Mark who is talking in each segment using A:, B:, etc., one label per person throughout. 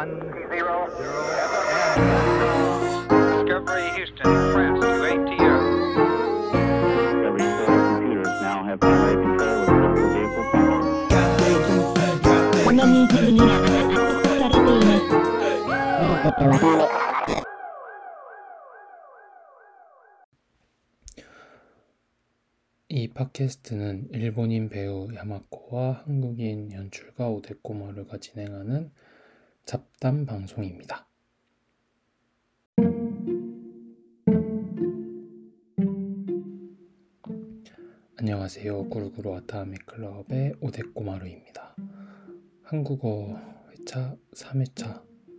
A: 0, 0, and Discovery Houston, press to ATO.
B: Every set of computers now have primary control of physical vehicle functions.
C: このミーティングにはされています。
D: 이 팟캐스트는 일본인 배우 야마코와 한국인 연출가 오데코마루가 진행하는 잡담 방송입니다. 안녕하세요. 구루구루 와타나베 클럽의 오데코마루입니다. 한국어 회차 3회차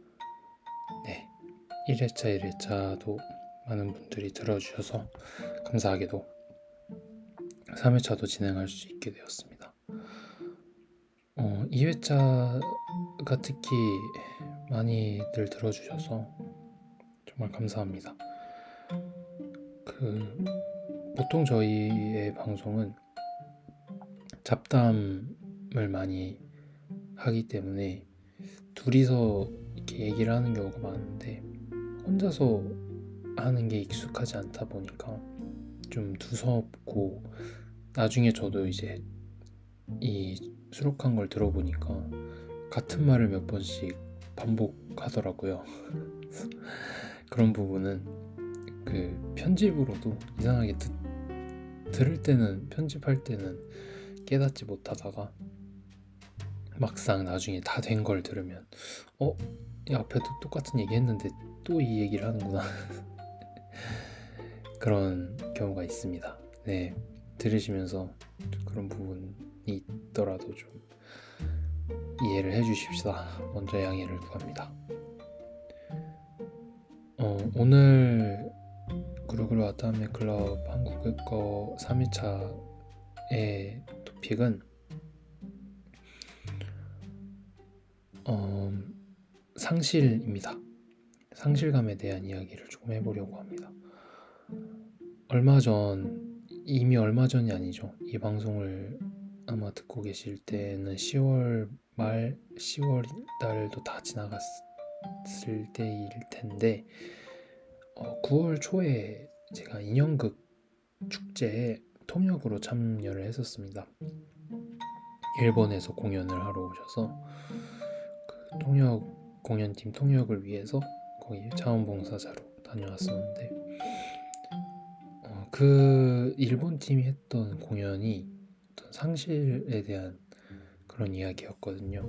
D: 1회차 1회차도 많은 분들이 들어주셔서 감사하게도 3회차도 진행할 수 있게 되었습니다. 2회차가 특히 많이들 들어주셔서 정말 감사합니다. 보통 저희의 방송은 잡담을 많이 하기 때문에 둘이서 이렇게 얘기를 하는 경우가 많은데 혼자서 하는 게 익숙하지 않다 보니까 좀 두섭고 나중에 저도 이제 이 수록한 걸 들어보니까 같은 말을 몇 번씩 반복하더라고요. 그런 부분은 편집으로도 이상하게 들을 때는 편집할 때는 깨닫지 못하다가 막상 나중에 다 된 걸 들으면 앞에도 똑같은 얘기 했는데 또 이 얘기를 하는구나 그런 경우가 있습니다. 들으시면서 그런 부분이 있더라도 좀 이해를 해주십시다. 먼저 양해를 구합니다. 오늘 구루구루 와타나베 클럽 한국어 3회차의 토픽은 상실입니다. 상실감에 대한 이야기를 조금 해보려고 합니다. 이미 얼마 전이 아니죠. 이 방송을 아마 듣고 계실 때는 10월 말 10월 달도 다 지나갔을 때일 텐데 9월 초에 제가 인형극 축제에 통역으로 참여를 했었습니다. 일본에서 공연을 하러 오셔서 통역 공연팀 통역을 위해서 거기 자원봉사자로 다녀왔었는데 그 일본 팀이 했던 공연이 어떤 상실에 대한 그런 이야기였거든요.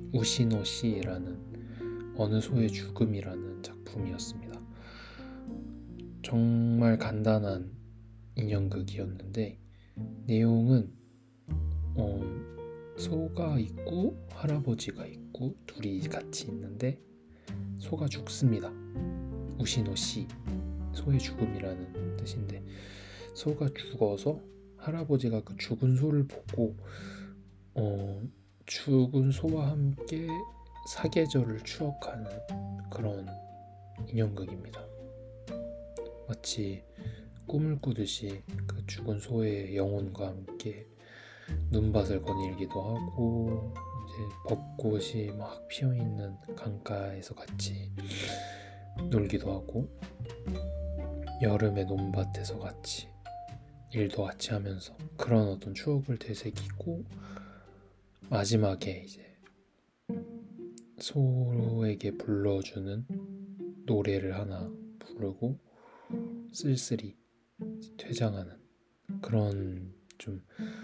D: 우시노시라는 어느 소의 죽음이라는 작품이었습니다. 정말 간단한 인형극이었는데 내용은 소가 있고 할아버지가 있고 둘이 같이 있는데 소가 죽습니다. 우시노시 소의 죽음이라는 뜻인데 소가 죽어서 할아버지가 그 죽은 소를 보고 죽은 소와 함께 사계절을 추억하는 그런 인형극입니다. 마치 꿈을 꾸듯이 그 죽은 소의 영혼과 함께 눈밭을 거닐기도 하고 이제 벚꽃이 막 피어있는 강가에서 같이 놀기도 하고 여름의 논밭에서 같이 일도 같이 하면서 그런 어떤 추억을 되새기고 마지막에 이제 소에게 불러주는 노래를 하나 부르고 쓸쓸히 퇴장하는 그런 좀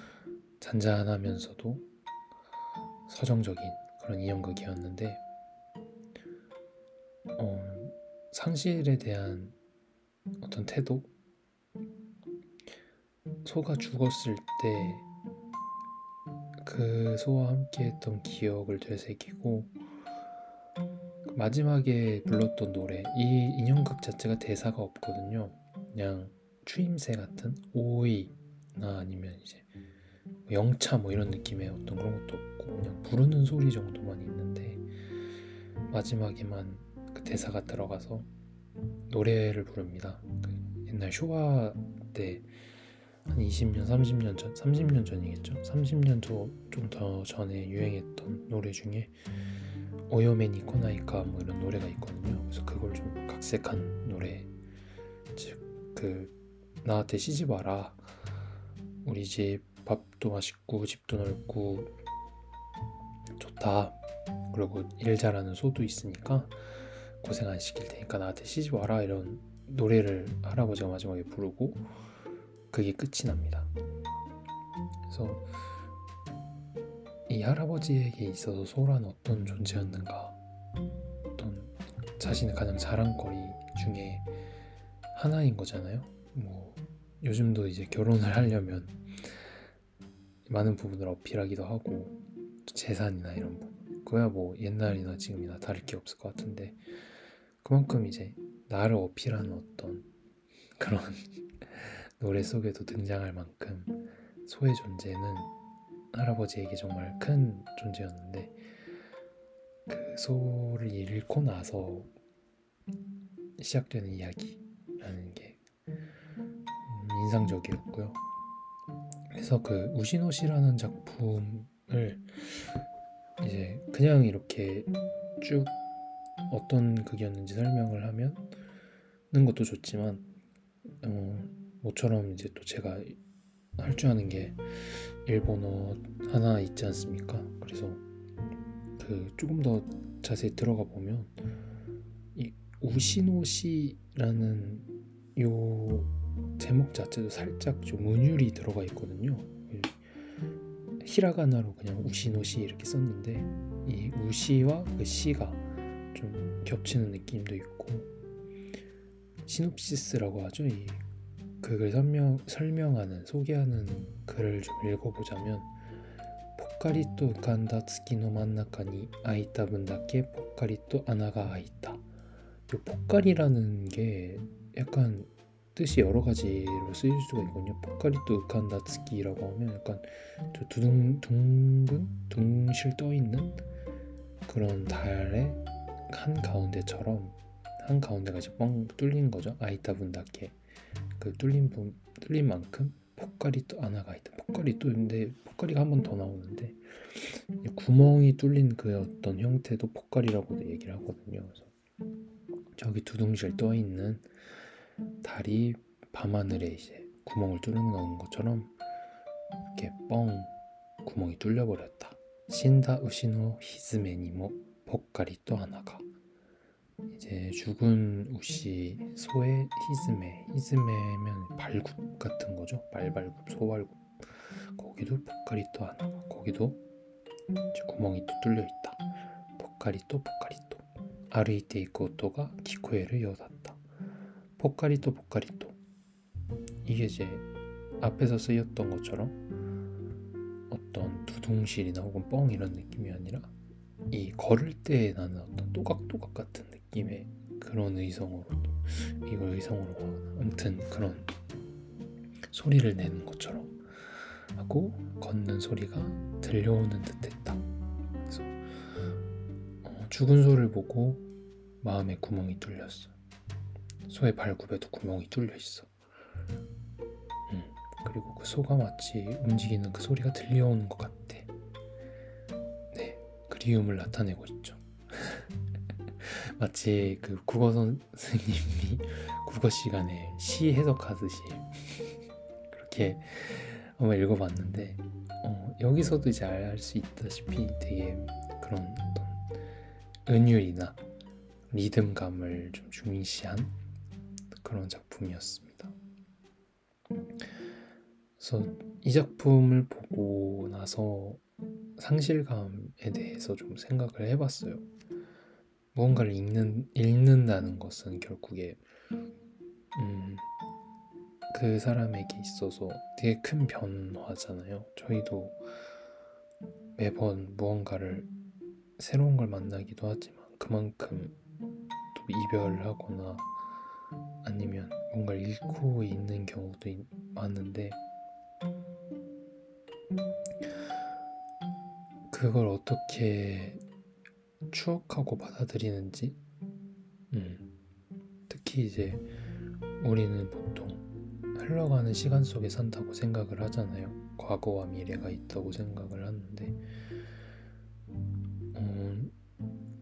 D: 잔잔하면서도 서정적인 그런 인형극이었는데 상실에 대한 어떤 태도, 소가 죽었을 때 그 소와 함께 했던 기억을 되새기고 마지막에 불렀던 노래, 이 인형극 자체가 대사가 없거든요. 그냥 추임새 같은 오이나 아니면 이제 영차 이런 느낌의 어떤 그런 것도 없고 그냥 부르는 소리 정도만 있는데 마지막에만 그 대사가 들어가서 노래를 부릅니다. 옛날 쇼와 때 한 20년, 30년 전, 30년 전이겠죠. 30년 좀 더 전에 유행했던 노래 중에 오요메니 코나이카 뭐 이런 노래가 있거든요. 그래서 그걸 좀 각색한 노래, 즉 그 나한테 시집 와라, 우리 집 밥도 맛있고 집도 넓고 좋다, 그리고 일 잘하는 소도 있으니까 고생 안 시킬 테니까 나한테 시집 와라, 이런 노래를 할아버지가 마지막에 부르고 그게 끝이 납니다. 그래서 이 할아버지에게 있어서 소란 어떤 존재였는가, 어떤 자신의 가장 자랑거리 중에 하나인 거잖아요. 뭐 요즘도 이제 결혼을 하려면 많은 부분을 어필하기도 하고, 재산이나 이런 부분, 그거야 뭐 옛날이나 지금이나 다를 게 없을 것 같은데, 그만큼 이제 나를 어필하는 어떤 그런 노래 속에도 등장할 만큼 소의 존재는 할아버지에게 정말 큰 존재였는데, 그 소를 잃고 나서 시작되는 이야기라는 게 인상적이었고요. 그래서 그 우시노시라는 작품을 이제 그냥 이렇게 쭉 어떤 극이었는지 설명을 하면은 것도 좋지만, 모처럼 이제 또 제가 할 줄 아는 게 일본어 하나 있지 않습니까? 그래서 그 조금 더 자세히 들어가 보면 이 우시노시라는 요 제목 자체도 살짝 좀 은율이 들어가 있거든요. 히라가나로 그냥 우시노시 이렇게 썼는데 이 우시와 그 시가 좀 겹치는 느낌도 있고, 시놉시스라고 하죠. 이 그걸 설명하는, 소개하는 글을 좀 읽어보자면, 포카리또 간다 츠키노 만나카니 아이타 분다케 포카리또 아나가 아이타. 이 포카리라는 게 약간 뜻이 여러 가지로 쓰일 수가 있거든요. 포카리또 간다 츠키라고 하면 약간 저 둥실 떠 있는 그런 달의 한 가운데처럼, 한 가운데가 이제 뻥 뚫린 거죠. 아이타 분다케, 그 뚫린 만큼 포카리또 아나가 있다. 포카리또인데 포카리가 한 번 더 나오는데 구멍이 뚫린 그 어떤 형태도 포카리라고도 얘기를 하거든요. 그래서 저기 두둥실 떠 있는 달이 밤하늘에 이제 구멍을 뚫는 것처럼 이렇게 뻥 구멍이 뚫려 버렸다. 신다 우시노 히즈메니모 포카리또 아나가. 이제 죽은 우시 소의 히즈메면 발굽 같은 거죠. 말발굽, 소발굽. 거기도 포카리또 하나가, 거기도 이제 구멍이 또 뚫려 있다. 포카리또 아르이테 이코토가 기코에를 여닫다. 포카리또 이게 이제 앞에서 쓰였던 것처럼 어떤 두둥실이나 혹은 뻥 이런 느낌이 아니라 이 걸을 때 나는 어떤 또각또각 같은 느낌의 그런 의성으로 아무튼 그런 소리를 내는 것처럼 하고 걷는 소리가 들려오는 듯했다. 그래서 죽은 소를 보고 마음에 구멍이 뚫렸어. 소의 발굽에도 구멍이 뚫려 있어. 그리고 그 소가 마치 움직이는 그 소리가 들려오는 것 같아. 네, 그리움을 나타내고 있죠. 마치 그 국어 선생님이 국어 시간에 시 해석하듯이 그렇게 한번 읽어봤는데, 여기서도 이제 알 수 있다시피 되게 그런 어떤 은율이나 리듬감을 좀 중시한 그런 작품이었습니다. 그래서 이 작품을 보고 나서 상실감에 대해서 좀 생각을 해봤어요. 무언가를 읽는다는 것은 결국에 그 사람에게 있어서 되게 큰 변화잖아요. 저희도 매번 무언가를 새로운 걸 만나기도 하지만 그만큼 또 이별을 하거나 아니면 뭔가를 잃고 있는 경우도 많은데, 그걸 어떻게 추억하고 받아들이는지, 특히 이제 우리는 보통 흘러가는 시간 속에 산다고 생각을 하잖아요. 과거와 미래가 있다고 생각을 하는데,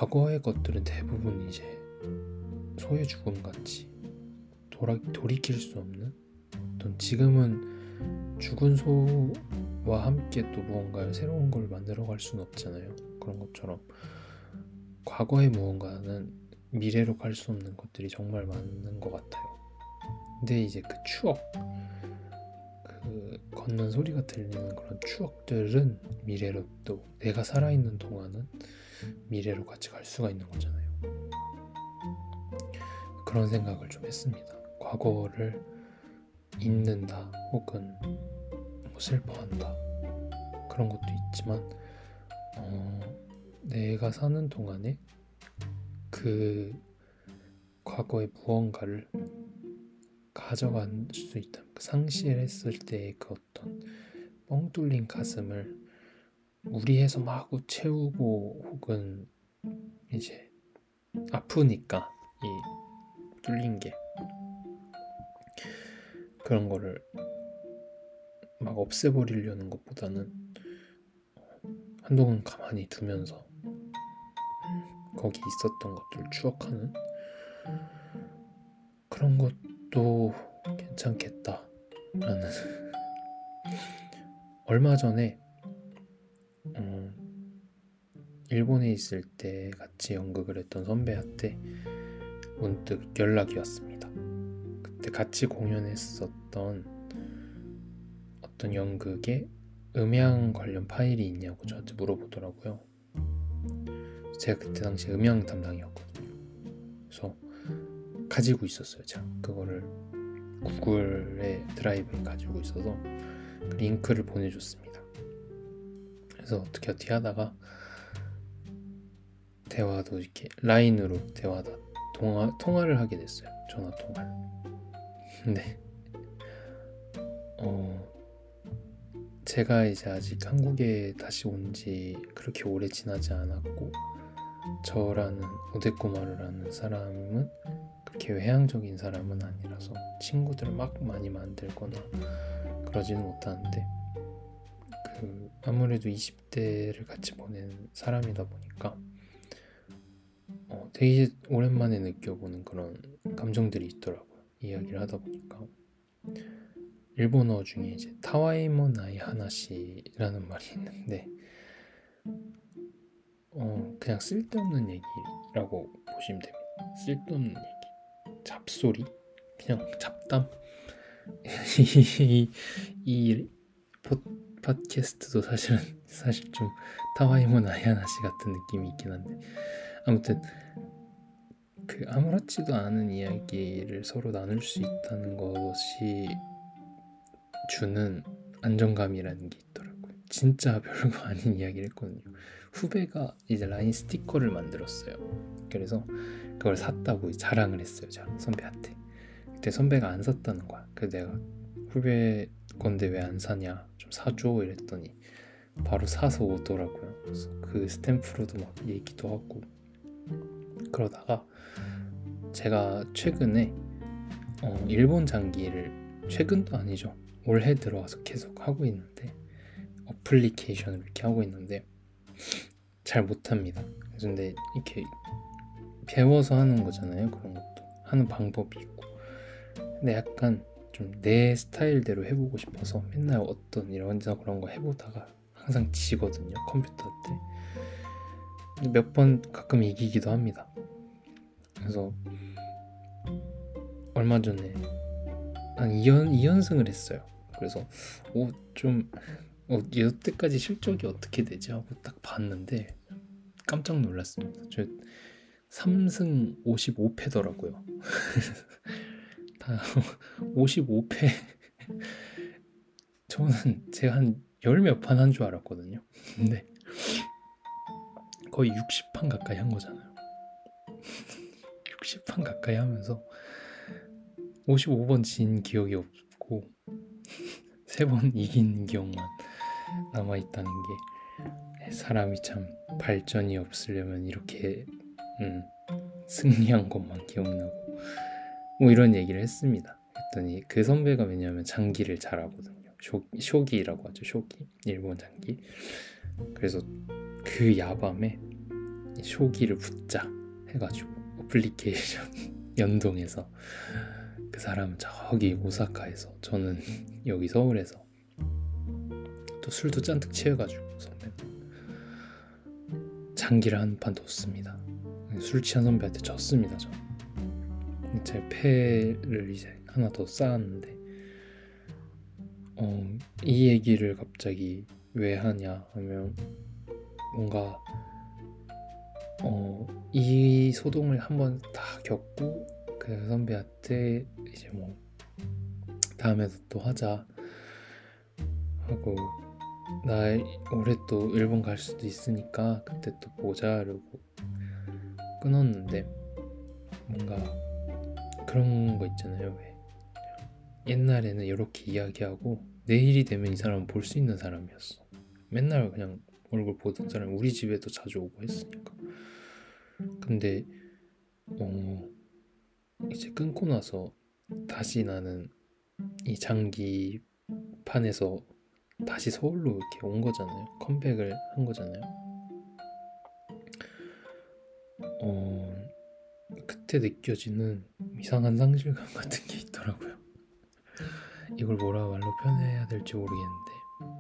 D: 과거의 것들은 대부분 이제 소의 죽음 같이 돌이킬 수 없는 어떤, 지금은 죽은 소와 함께 또 무언가 새로운 걸 만들어갈 수는 없잖아요. 그런 것처럼 과거의 무언가는 미래로 갈 수 없는 것들이 정말 많은 것 같아요. 근데 이제 그 추억, 그 걷는 소리가 들리는 그런 추억들은 미래로, 또 내가 살아있는 동안은 미래로 같이 갈 수가 있는 거잖아요. 그런 생각을 좀 했습니다. 과거를 잊는다 혹은 뭐 슬퍼한다 그런 것도 있지만 내가 사는 동안에 그 과거의 무언가를 가져갈 수 있다. 상실했을 때의 그 어떤 뻥 뚫린 가슴을 무리해서 마구 채우고, 혹은 이제 아프니까 이 뚫린 게, 그런 거를 막 없애버리려는 것보다는 한동안 가만히 두면서 거기 있었던 것들 추억하는 그런 것도 괜찮겠다라는 얼마 전에 일본에 있을 때 같이 연극을 했던 선배한테 문득 연락이 왔습니다. 그때 같이 공연했었던 어떤 연극에 음향 관련 파일이 있냐고 저한테 물어보더라고요. 제가 그때 당시 음향 담당이었거든요. 그래서 가지고 있었어요. 제가 그거를 구글의 드라이브에 가지고 있어서 링크를 보내줬습니다. 그래서 어떻게 하다가 대화도 이렇게 라인으로 통화를 하게 됐어요. 전화 통화를. 근데 제가 이제 아직 한국에 다시 온 지 그렇게 오래 지나지 않았고, 저라는 오데코마루라는 사람은 그렇게 외향적인 사람은 아니라서 친구들을 막 많이 만들거나 그러지는 못하는데, 아무래도 20대를 같이 보낸 사람이다 보니까 되게 오랜만에 느껴보는 그런 감정들이 있더라고요. 이야기를 하다 보니까 일본어 중에 이제 타와이모 나이 하나시라는 말이 있는데 그냥 쓸데없는 얘기라고 보시면 됩니다. 쓸데없는 얘기, 잡소리, 그냥 잡담. 이 팟캐스트도 사실 좀 타와이모 나이 하나시 같은 느낌이 있긴 한데, 아무튼 그 아무렇지도 않은 이야기를 서로 나눌 수 있다는 것이 주는 안정감이라는 게 있더라고요. 진짜 별거 아닌 이야기를 했거든요. 후배가 이제 라인 스티커를 만들었어요. 그래서 그걸 샀다고 자랑을 했어요. 제가 선배한테. 그때 선배가 안 샀다는 거야. 그래서 내가 후배 건데 왜 안 사냐, 좀 사줘 이랬더니 바로 사서 오더라고요. 그래서 그 스탬프로도 막 얘기도 하고 그러다가 제가 최근에 일본 장기를, 최근도 아니죠, 올해 들어와서 계속 하고 있는데, 어플리케이션을 이렇게 하고 있는데 잘 못합니다. 근데 이렇게 배워서 하는 거잖아요. 그런 것도 하는 방법이 있고, 근데 약간 좀 내 스타일대로 해보고 싶어서 맨날 어떤 이런저런 그런 거 해보다가 항상 지거든요, 컴퓨터 때. 몇 번 가끔 이기기도 합니다. 그래서 얼마 전에 한 2연승을 했어요. 그래서 여태까지 실적이 어떻게 되지 하고 딱 봤는데 깜짝 놀랐습니다. 저 3승 55패더라고요. 다 55패. 저는 제가 한 10몇 판 한 줄 알았거든요. 근데 거의 60판 가까이 한 거잖아요. 60판 가까이 하면서 55번 진 기억이 없고 3번 이긴 기억만 남아있다는 게, 사람이 참 발전이 없으려면 이렇게 승리한 것만 기억나고 뭐 이런 얘기를 했습니다. 했더니 그 선배가 왜냐하면 장기를 잘하거든요. 쇼기라고 하죠. 쇼기, 일본 장기. 그래서 그 야밤에 쇼기를 붙자 해가지고 어플리케이션 연동해서 그 사람은 저기 오사카에서 저는 여기 서울에서 또 술도 잔뜩 취해가지고 선배는 장기를 한 판 뒀습니다. 술 취한 선배한테 졌습니다. 저 제 패를 이제 하나 더 쌓았는데 이 얘기를 갑자기 왜 하냐 하면 뭔가 이 소동을 한번 다 겪고 그 선배한테 이제 뭐 다음에도 또 하자 하고 나 올해 또 일본 갈 수도 있으니까 그때 또 보자 이러고 끊었는데 뭔가 그런 거 있잖아요. 왜 옛날에는 이렇게 이야기하고 내일이 되면 이 사람은 볼 수 있는 사람이었어. 맨날 그냥 얼굴 보던 사람 우리 집에도 자주 오고 했으니까. 근데 이제 끊고 나서 다시 나는 이 장기판에서 다시 서울로 이렇게 온 거잖아요. 컴백을 한 거잖아요. 그때 느껴지는 이상한 상실감 같은 게 있더라고요. 이걸 뭐라 말로 표현해야 될지 모르겠는데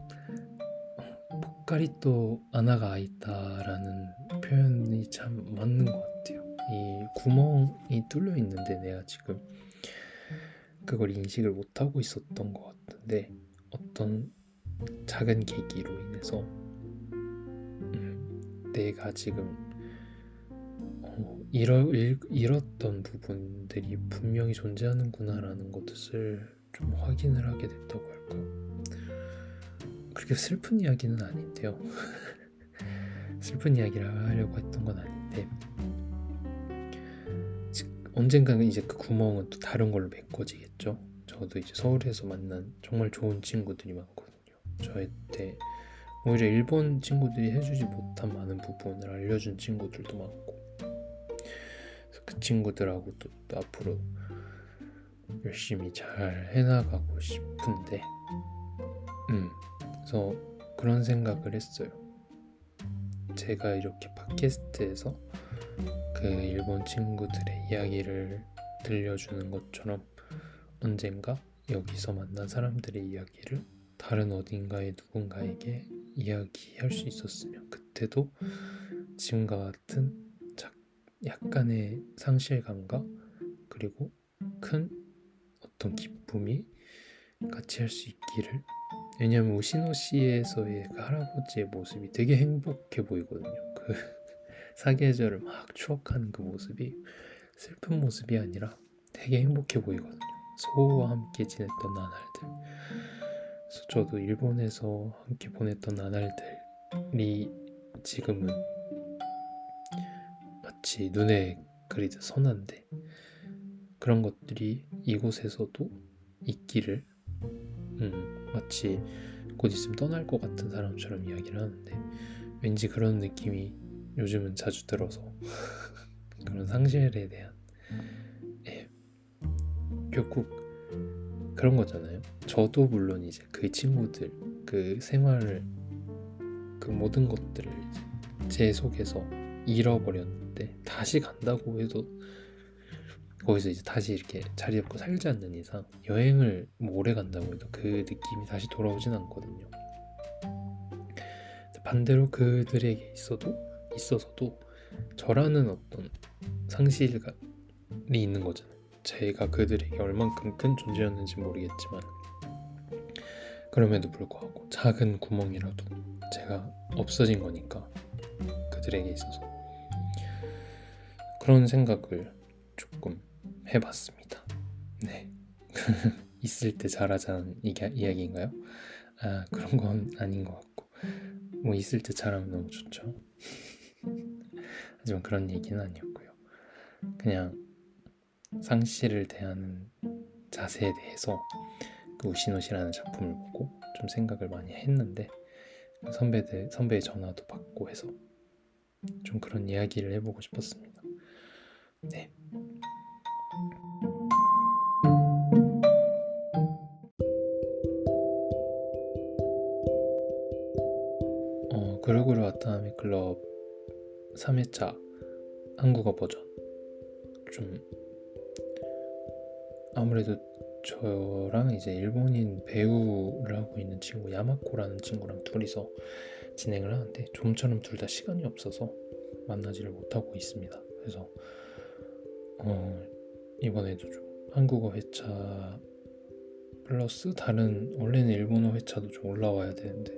D: 포카리또 아나가 아이다라는 표현이 참 맞는 것 같아요. 이 구멍이 뚫려 있는데 내가 지금 그걸 인식을 못하고 있었던 것 같은데 어떤 작은 계기로 인해서 내가 지금 잃었던 부분들이 분명히 존재하는구나라는 것을 좀 확인을 하게 됐다고 할까. 그렇게 슬픈 이야기는 아닌데요. 슬픈 이야기를 하려고 했던 건 아닌데 언젠가는 이제 그 구멍은 또 다른 걸로 메꿔지겠죠. 저도 이제 서울에서 만난 정말 좋은 친구들이 많거든요. 저한테 오히려 일본 친구들이 해주지 못한 많은 부분을 알려준 친구들도 많고 그래서 그 친구들하고 또 앞으로 열심히 잘 해나가고 싶은데 그래서 그런 생각을 했어요. 제가 이렇게 팟캐스트에서 그 일본 친구들의 이야기를 들려주는 것처럼 언젠가 여기서 만난 사람들의 이야기를 다른 어딘가의 누군가에게 이야기할 수 있었으면 그때도 지금과 같은 약간의 상실감과 그리고 큰 어떤 기쁨이 같이 할 수 있기를. 왜냐하면 우시노시에서의 그 할아버지의 모습이 되게 행복해 보이거든요. 그 사계절을 막 추억하는 그 모습이 슬픈 모습이 아니라 되게 행복해 보이거든요. 소와 함께 지냈던 나날들. 그래서 저도 일본에서 함께 보냈던 나날들이 지금은 마치 눈에 그리듯 선한데 그런 것들이 이곳에서도 있기를 마치 곧 있으면 떠날 것 같은 사람처럼 이야기를 하는데 왠지 그런 느낌이 요즘은 자주 들어서 그런 상실에 대한 결국 그런 거잖아요. 저도 물론 이제 그 친구들 그 생활을 그 모든 것들을 이제 제 속에서 잃어버렸는데 다시 간다고 해도 거기서 이제 다시 이렇게 자리 잡고 살지 않는 이상 여행을 뭐 오래 간다고 해도 그 느낌이 다시 돌아오진 않거든요. 반대로 그들에게 있어서도 저라는 어떤 상실이 있는 거잖아요. 제가 그들에게 얼만큼 큰 존재였는지 모르겠지만 그럼에도 불구하고 작은 구멍이라도 제가 없어진 거니까 그들에게 있어서 그런 생각을 조금 해봤습니다. 네. 있을 때 잘하자는 이야기인가요? 그런 건 아닌 것 같고 뭐 있을 때 잘하면 너무 좋죠. 하지만 그런 얘기는 아니었고요. 그냥 상실을 대하는 자세에 대해서 그 우시노시라는 작품을 보고 좀 생각을 많이 했는데 선배의 전화도 받고 해서 좀 그런 이야기를 해보고 싶었습니다. 네. 그루그루 와타나베 클럽 3회차 한국어 버전. 좀 아무래도 저랑 이제 일본인 배우를 하고 있는 친구 야마코라는 친구랑 둘이서 진행을 하는데 좀처럼 둘 다 시간이 없어서 만나지를 못하고 있습니다. 그래서 이번에도 좀 한국어 회차 플러스 다른 원래는 일본어 회차도 좀 올라와야 되는데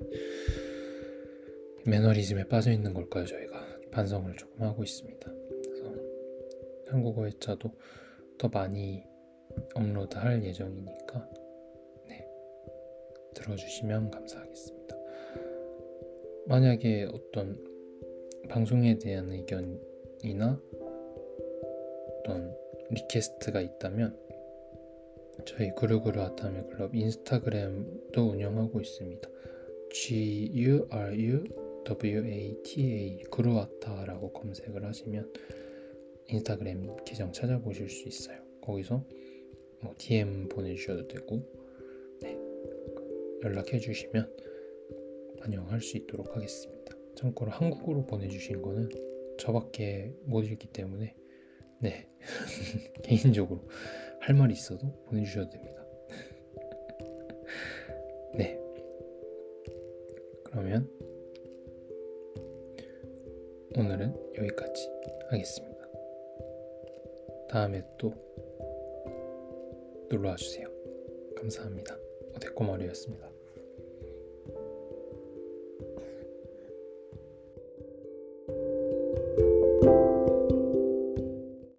D: 매너리즘에 빠져 있는 걸까요? 저희가 반성을 조금 하고 있습니다. 그래서 한국어 회차도 더 많이 업로드할 예정이니까 들어주시면 감사하겠습니다. 만약에 어떤 방송에 대한 의견이나 어떤 리퀘스트가 있다면 저희 구르구르 아타메 클럽 인스타그램도 운영하고 있습니다. GURUWATA 구루아타라고 검색을 하시면 인스타그램 계정 찾아보실 수 있어요. 거기서 DM 보내주셔도 되고 연락해 주시면 반영할 수 있도록 하겠습니다. 참고로 한국어로 보내주신 거는 저밖에 못 읽기 때문에 개인적으로 할 말이 있어도 보내주셔도 됩니다. 그러면 오늘은 여기까지 하겠습니다. 다음에 또 놀러와 주세요. 감사합니다. 오데코마루였습니다.